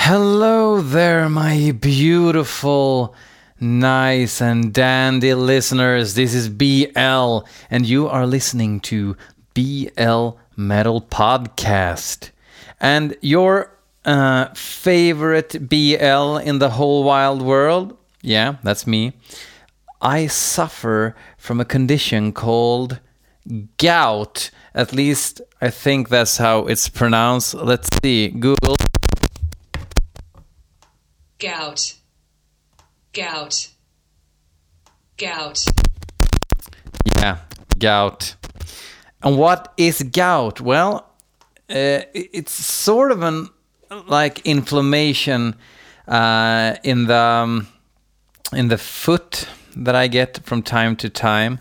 Hello there, my beautiful, nice and dandy listeners. This is BL, and you are listening to BL Metal Podcast. And your favorite BL in the whole wild world, yeah, that's me. I suffer from a condition called gout. At least I think that's how it's pronounced. Let's see, Google. Gout. Gout. Gout. Yeah, gout. And what is gout? Well, it's sort of an like inflammation in the foot that I get from time to time.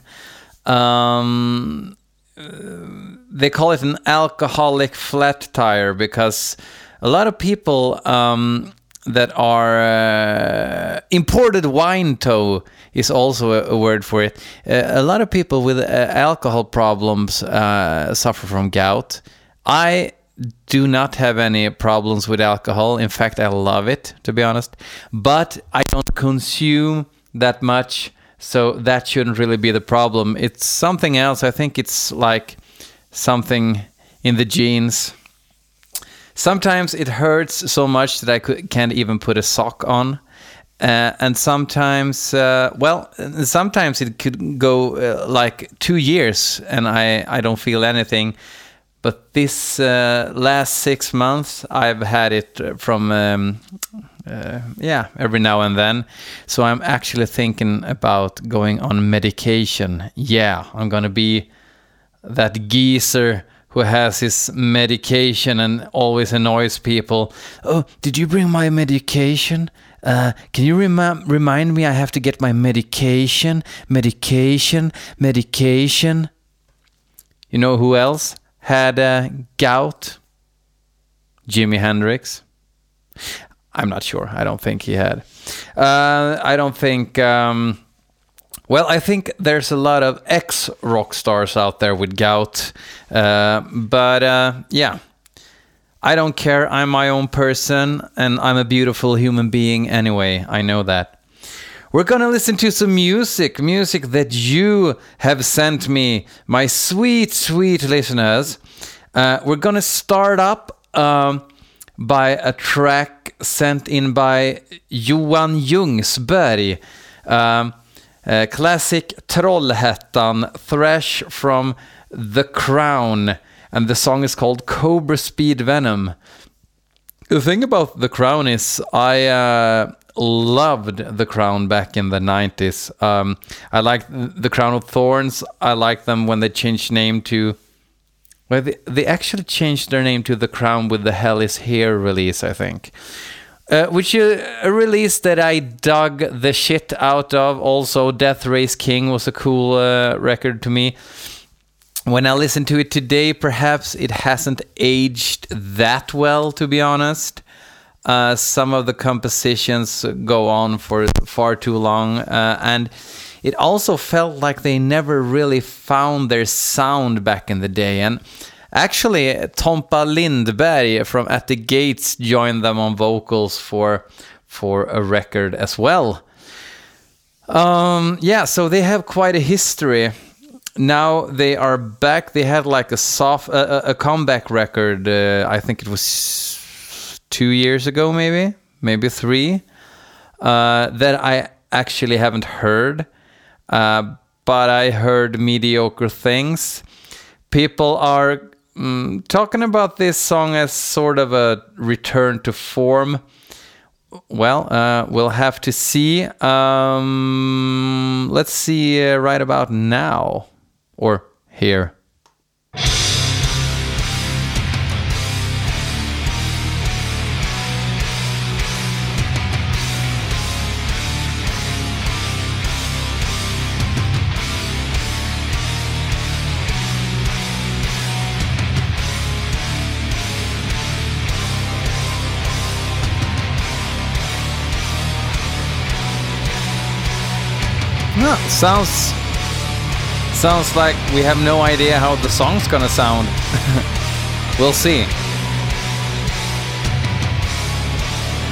They call it an alcoholic flat tire because a lot of people that are imported wine toe is also a word for it. A lot of people with alcohol problems suffer from gout. I do not have any problems with alcohol. In fact, I love it, to be honest. But I don't consume that much, so that shouldn't really be the problem. It's something else. I think it's like something in the genes. Sometimes it hurts so much that I can't even put a sock on. And sometimes, sometimes it could go like 2 years and I don't feel anything. But this last 6 months, I've had it from, every now and then. So I'm actually thinking about going on medication. Yeah, I'm going to be that geezer who has his medication and always annoys people. Oh, did you bring my medication? Can you remind me I have to get my medication? Medication. You know who else had gout? Jimi Hendrix. I'm not sure. I don't think he had. I don't think... I think there's a lot of ex-rock stars out there with gout. I don't care. I'm my own person, and I'm a beautiful human being anyway. I know that. We're gonna listen to some music that you have sent me, my sweet, sweet listeners. We're gonna start up by a track sent in by Johan Ljungsberg. Classic Trollhättan thrash from The Crown, and the song is called Cobra Speed Venom. The thing about The Crown is I loved The Crown back in the 90s. I liked The Crown of Thorns. I liked them when they changed name to... Well, they actually changed their name to The Crown with the Hell Is Here release, I think. Which is a release that I dug the shit out of. Also, Death Race King was a cool record to me. When I listen to it today, perhaps it hasn't aged that well, to be honest. Some of the compositions go on for far too long. And it also felt like they never really found their sound back in the day. And actually, Tompa Lindberg from At the Gates joined them on vocals for a record as well. So they have quite a history. Now they are back. They had like a comeback record. I think it was 2 years ago, maybe 3. That I actually haven't heard, but I heard mediocre things. People are talking about this song as sort of a return to form. Well, we'll have to see. Let's see right about now. Or here. Sounds like we have no idea how the song's gonna sound. We'll see.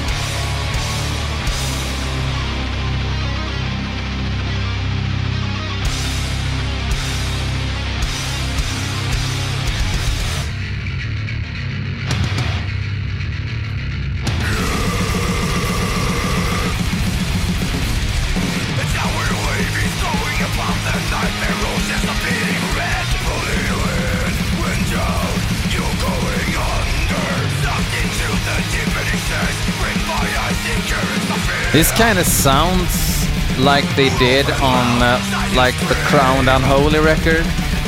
This kind of sounds like they did on like the Crowned Unholy record.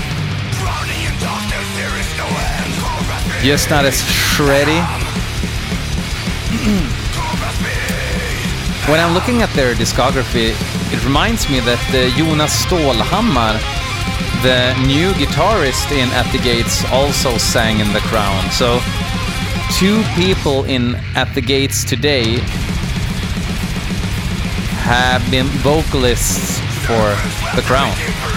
Just not as shreddy. When I'm looking at their discography, it reminds me that Jonas Stålhammar, the new guitarist in At the Gates, also sang in The Crown. So 2 people in At the Gates today have been vocalists for The Crown.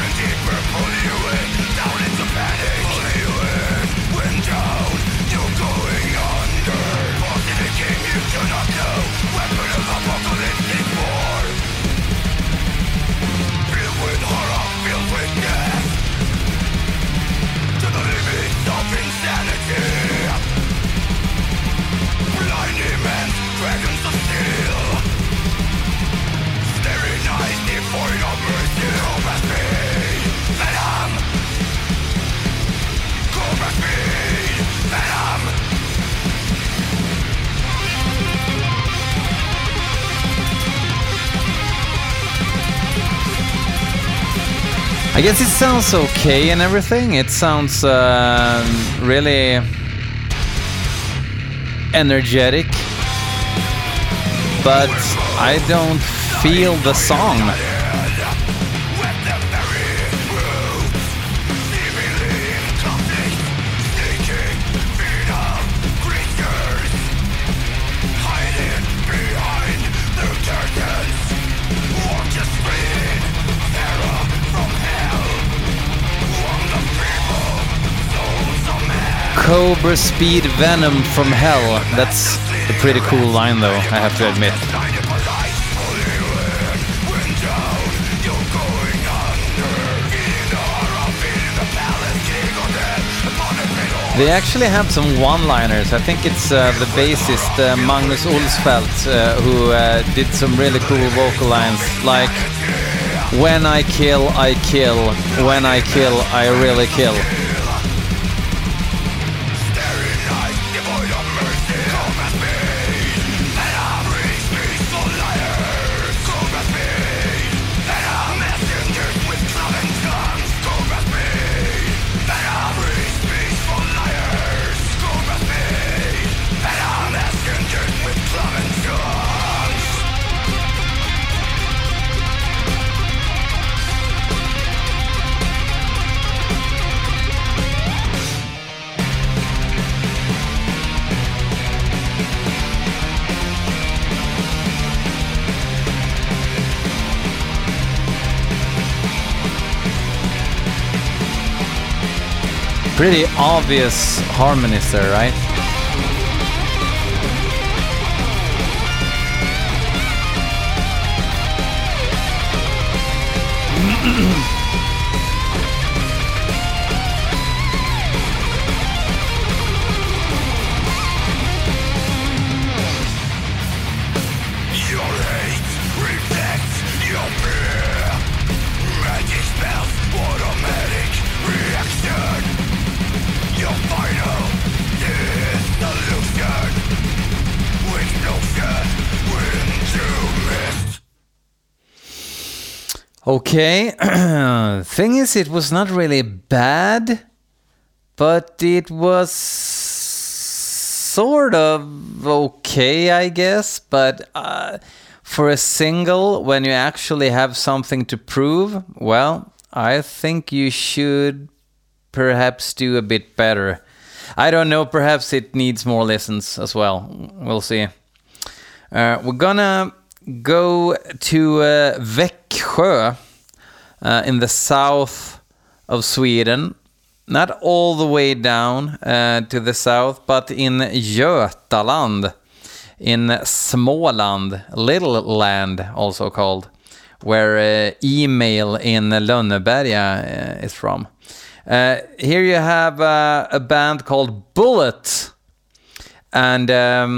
I guess it sounds okay and everything. It sounds really energetic, but I don't feel the song. Cobra Speed Venom from Hell. That's a pretty cool line though, I have to admit. They actually have some one-liners. I think it's the bassist Magnus Olsfeldt who did some really cool vocal lines like "When I kill, I kill. When I kill, I really kill." Pretty obvious harmonies there, right? Okay, thing is, it was not really bad, but it was sort of okay, I guess. But for a single, when you actually have something to prove, well, I think you should perhaps do a bit better. I don't know, perhaps it needs more listens as well. We'll see. We're gonna go to Växjö in the south of Sweden. Not all the way down to the south, but in Götaland, in Småland, Little Land also called, where Email in Lönneberga is from. Here you have a band called Bullet, and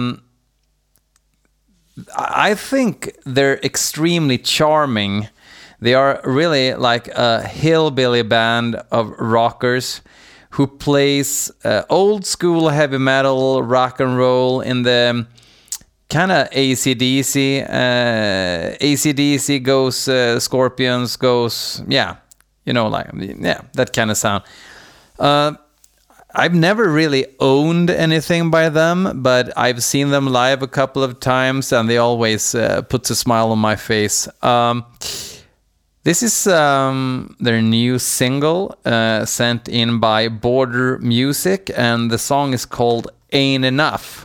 I think they're extremely charming. They are really like a hillbilly band of rockers who plays old school heavy metal, rock and roll in the kind of AC/DC. AC/DC goes Scorpions goes, yeah, you know, like, yeah, that kind of sound. I've never really owned anything by them, but I've seen them live a couple of times, and they always puts a smile on my face. This is their new single sent in by Border Music, and the song is called Ain't Enough.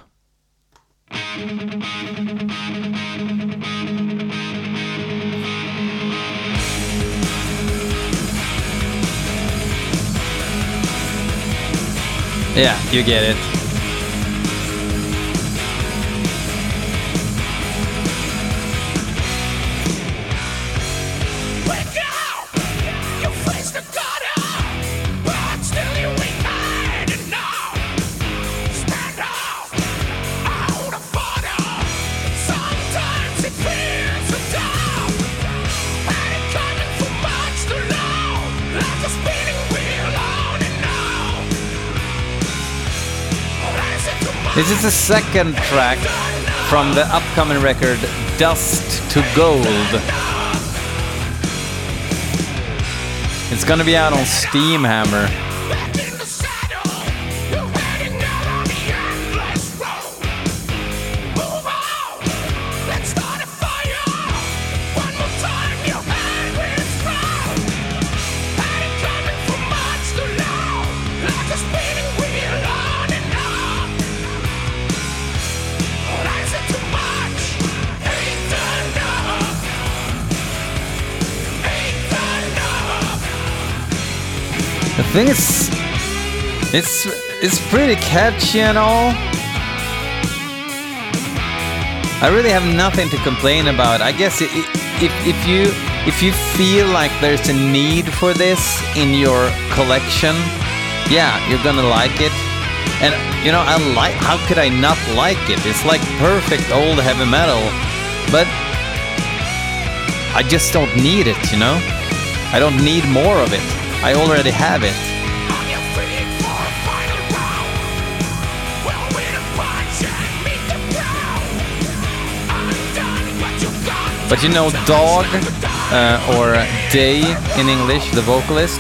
Yeah, you get it. This is the second track from the upcoming record Dust to Gold. It's gonna be out on Steamhammer. The thing is, it's pretty catchy and all. I really have nothing to complain about. I guess if you feel like there's a need for this in your collection, yeah, you're gonna like it. And you know, how could I not like it? It's like perfect old heavy metal, but I just don't need it, you know? I don't need more of it. I already have it. But you know, Dog, or Day in English, the vocalist,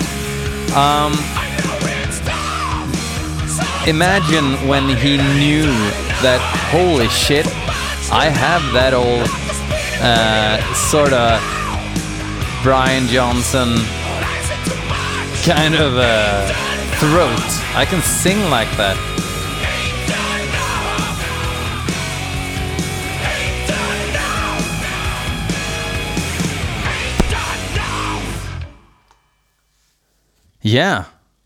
imagine when he knew that, holy shit, I have that old sort of Brian Johnson kind of throat. I can sing like that. Yeah.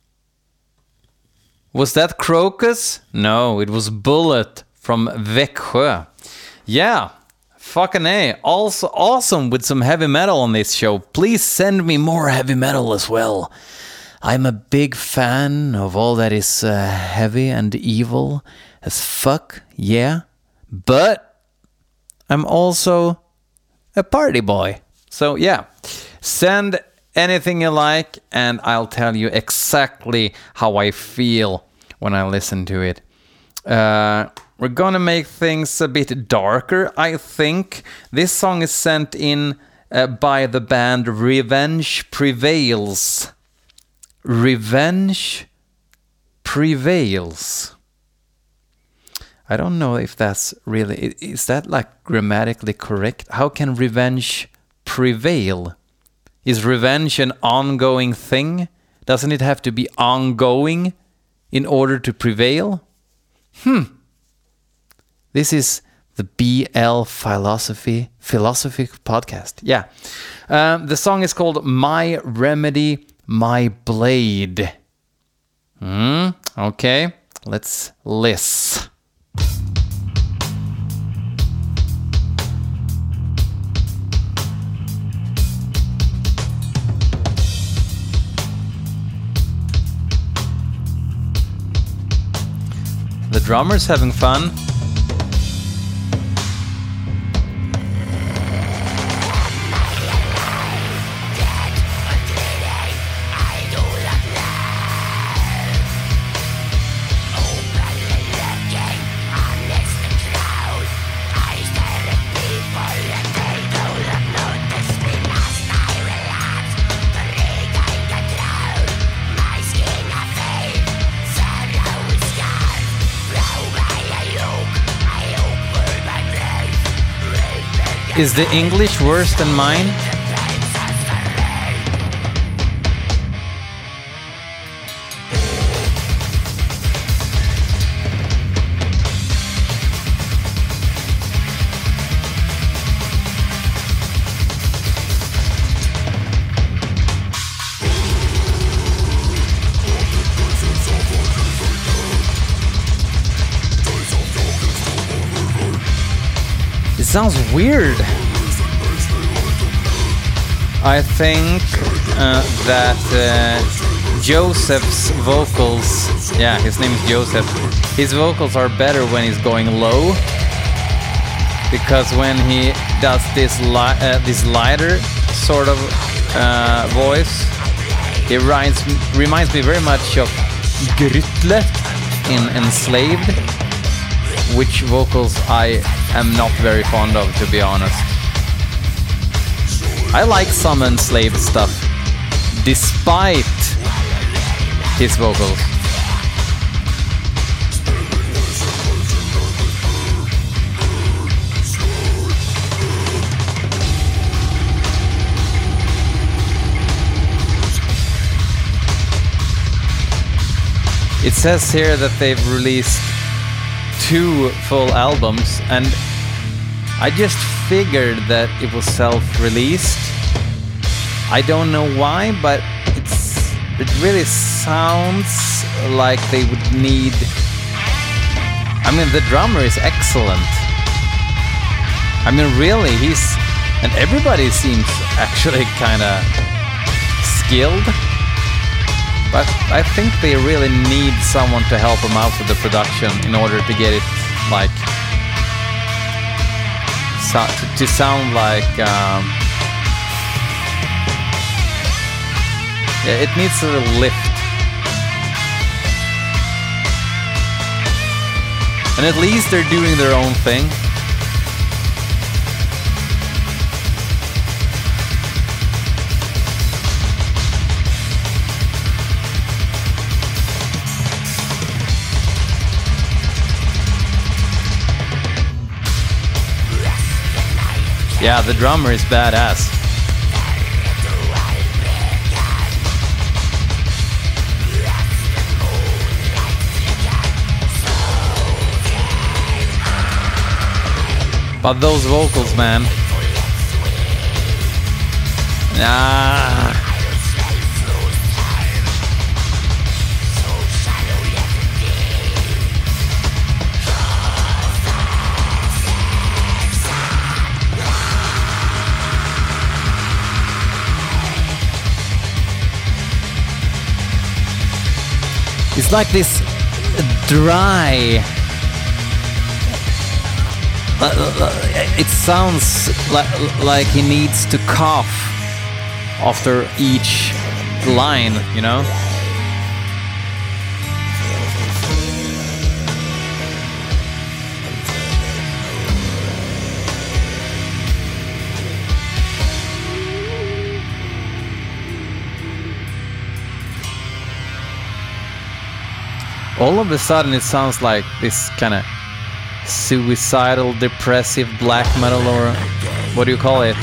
Was that Crocus? No, it was Bullet from Växjö. Yeah. Fucking A. Also awesome with some heavy metal on this show. Please send me more heavy metal as well. I'm a big fan of all that is heavy and evil as fuck, yeah. But I'm also a party boy. So yeah, send anything you like and I'll tell you exactly how I feel when I listen to it. We're gonna make things a bit darker, I think. This song is sent in by the band Revenge Prevails. Revenge Prevails. I don't know if that's really... Is that like grammatically correct? How can revenge prevail? Is revenge an ongoing thing? Doesn't it have to be ongoing in order to prevail? This is the BL Philosophy podcast. Yeah. The song is called My Remedy, My Blade. Okay, let's listen. The drummer's having fun. Is the English worse than mine? It sounds weird. I think that Joseph's vocals, yeah, his name is Joseph, his vocals are better when he's going low, because when he does this lighter sort of voice, it reminds me very much of Grytle in Enslaved, which vocals I am not very fond of, to be honest. I like some Enslaved stuff, despite his vocals. It says here that they've released 2 full albums, and I just figured that it was self-released. I don't know why, but it really sounds like they would need... I mean, the drummer is excellent. I mean, really, and everybody seems actually kind of skilled. But I think they really need someone to help them out with the production in order to get it, like, to sound like, yeah, it needs a little lift. And at least they're doing their own thing. Yeah, the drummer is badass. But those vocals, man. Nah. It's like this dry... It sounds like he needs to cough after each line, you know? All of a sudden it sounds like this kind of suicidal, depressive black metal, or what do you call it?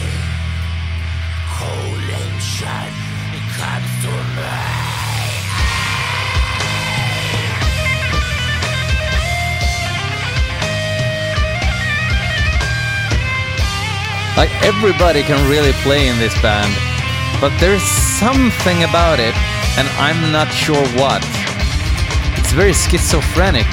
Like, everybody can really play in this band, but there's something about it, and I'm not sure what. It's very schizophrenic.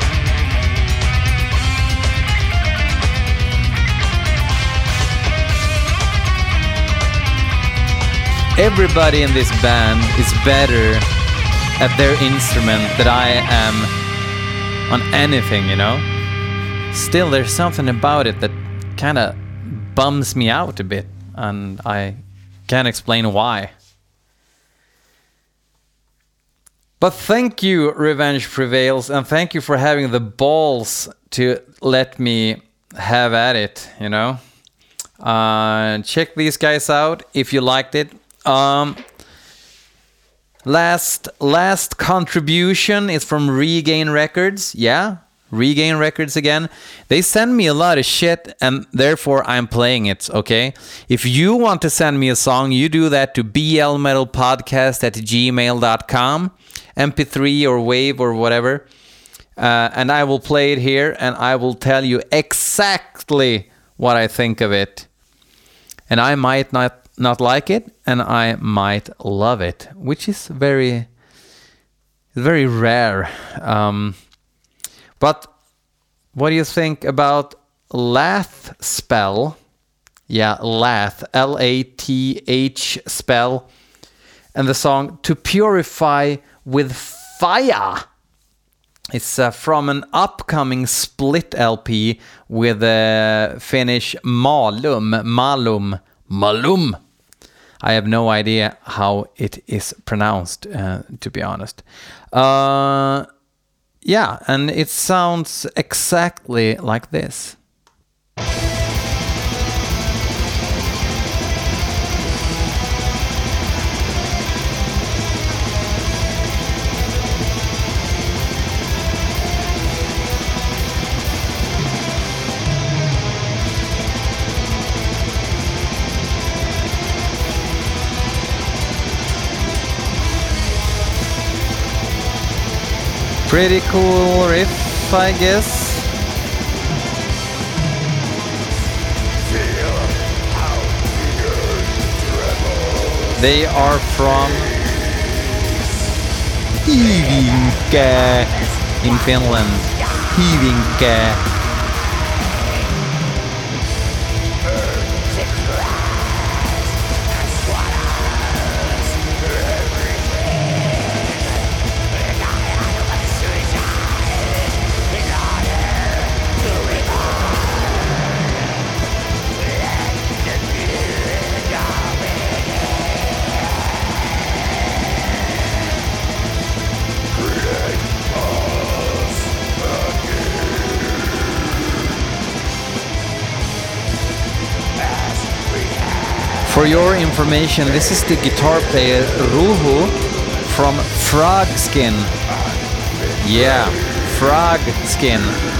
Everybody in this band is better at their instrument than I am on anything, you know? Still, there's something about it that kind of bums me out a bit, and I can't explain why. But thank you, Revenge Prevails, and thank you for having the balls to let me have at it, you know? Check these guys out if you liked it. Last contribution is from Regain Records. Yeah, Regain Records again. They send me a lot of shit, and therefore I'm playing it, okay? If you want to send me a song, you do that to blmetalpodcast@gmail.com, MP3 or Wave or whatever, and I will play it here, and I will tell you exactly what I think of it. And I might not like it, and I might love it, which is very rare. But what do you think about Lath Spell? Yeah, Lath, Lath spell, and the song To Purify with Fire. It's from an upcoming split LP with Finnish Malum. I have no idea how it is pronounced, to be honest. Yeah, and it sounds exactly like this. Pretty cool riff, I guess. They are from Hyvinkää in Finland. Hyvinkää. For your information, this is the guitar player Ruhu from Frogskin. Yeah, Frogskin.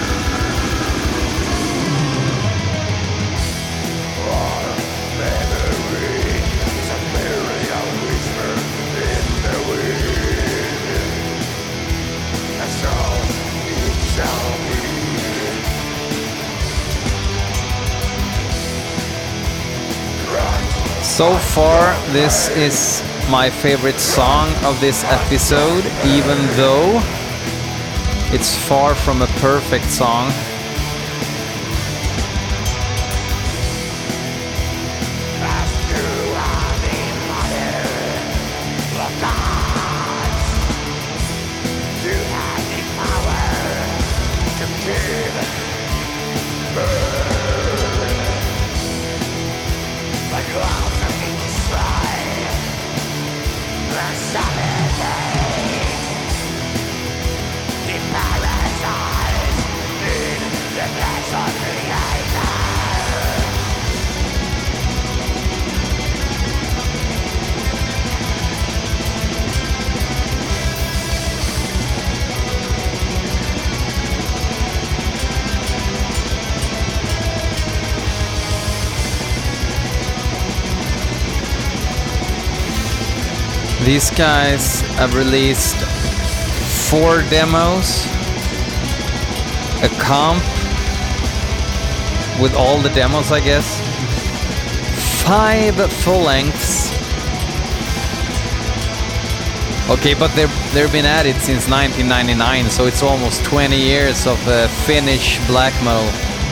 So far, this is my favorite song of this episode, even though it's far from a perfect song. These guys have released 4 demos, a comp with all the demos, I guess, 5 full lengths. Okay, but they've been at it since 1999, so it's almost 20 years of Finnish black metal.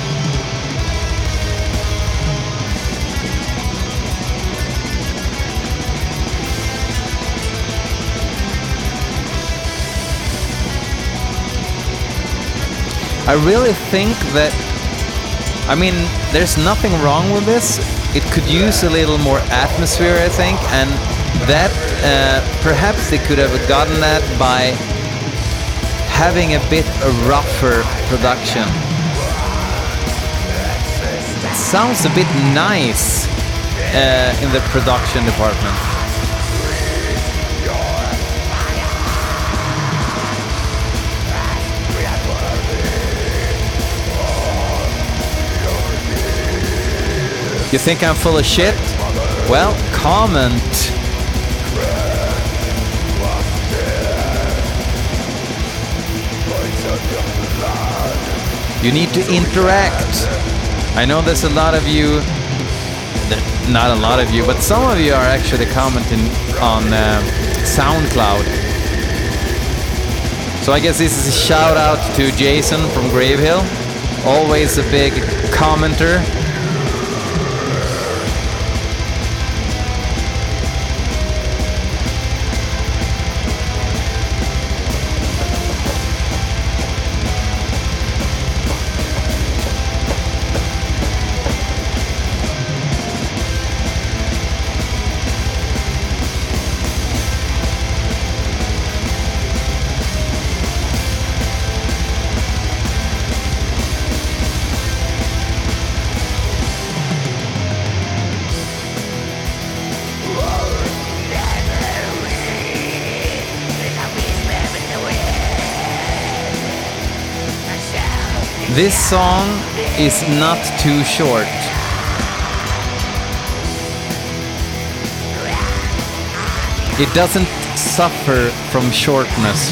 I really think that, I mean, there's nothing wrong with this. It could use a little more atmosphere, I think, and that perhaps they could have gotten that by having a bit rougher production. It sounds a bit nice in the production department. You think I'm full of shit? Well, comment. You need to interact. I know there's a lot of you, not a lot of you, but some of you are actually commenting on SoundCloud. So I guess this is a shout out to Jason from Gravehill. Always a big commenter. This song is not too short. It doesn't suffer from shortness.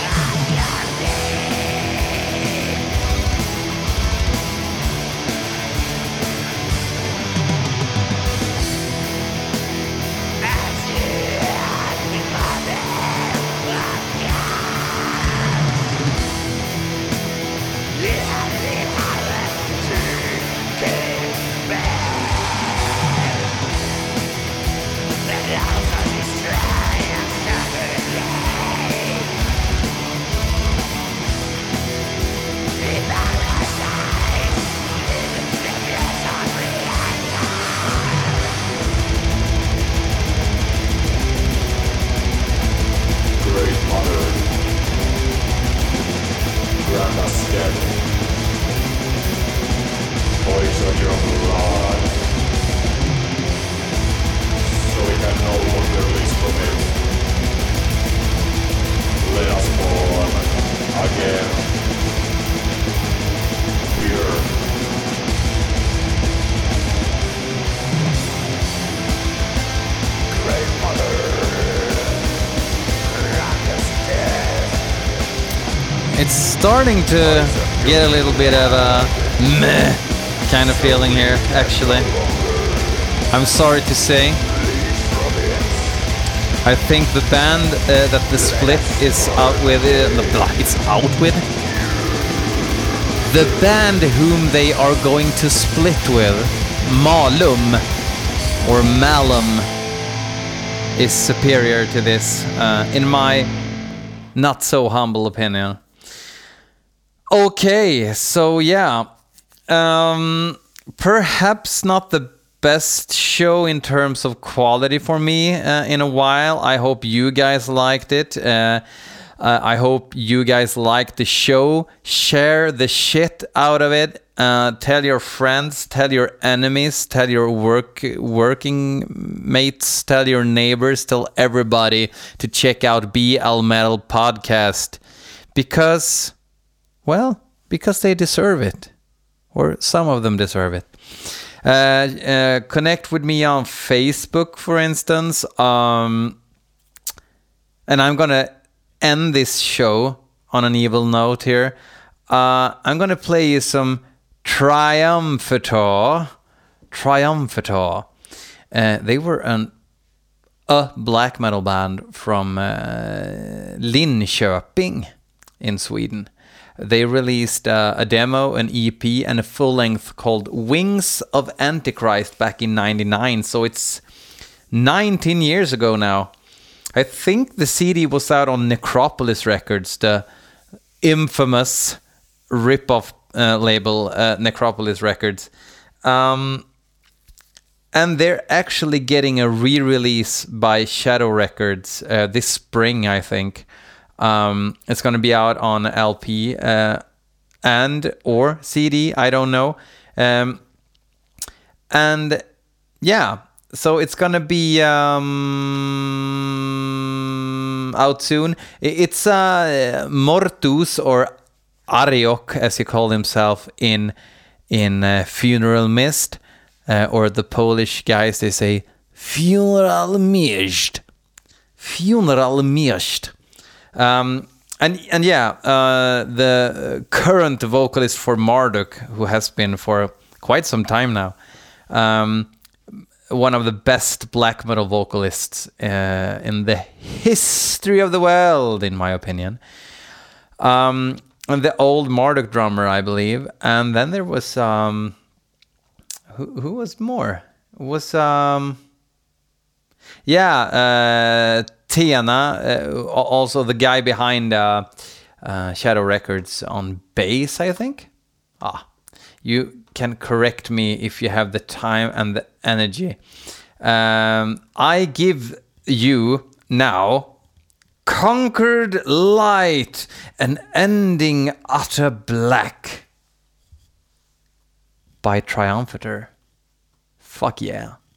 It's starting to get a little bit of a meh kind of feeling here, actually. I'm sorry to say. I think the band that the split is out with, the band whom they are going to split with, Malum, or Malum, is superior to this, in my not so humble opinion. Okay, so yeah, perhaps not the best show in terms of quality for me in a while. I hope you guys liked it. I hope you guys liked the show. Share the shit out of it. Tell your friends, tell your enemies, tell your working mates, tell your neighbors, tell everybody to check out BL Metal Podcast. Because they deserve it. Or some of them deserve it. Connect with me on Facebook, for instance. And I'm gonna end this show on an evil note here. I'm gonna play you some Triumphator. They were a black metal band from Linköping in Sweden. They released a demo, an EP, and a full-length called Wings of Antichrist back in '99. So it's 19 years ago now. I think the CD was out on Necropolis Records, the infamous rip-off label, Necropolis Records. And they're actually getting a re-release by Shadow Records this spring, I think. It's going to be out on LP and or CD, I don't know. And yeah, so it's going to be out soon. It's Mortus, or Ariok, as he called himself in Funeral Mist. or the Polish guys, they say funeral mierzcht. Funeral mierzcht. And yeah, the current vocalist for Marduk, who has been for quite some time now, one of the best black metal vocalists in the history of the world, in my opinion. And the old Marduk drummer, I believe. And then there was who was more? It was Tena, also the guy behind Shadow Records on bass, I think. You can correct me if you have the time and the energy. I give you now Conquered Light, an ending utter black by Triumphator. Fuck yeah.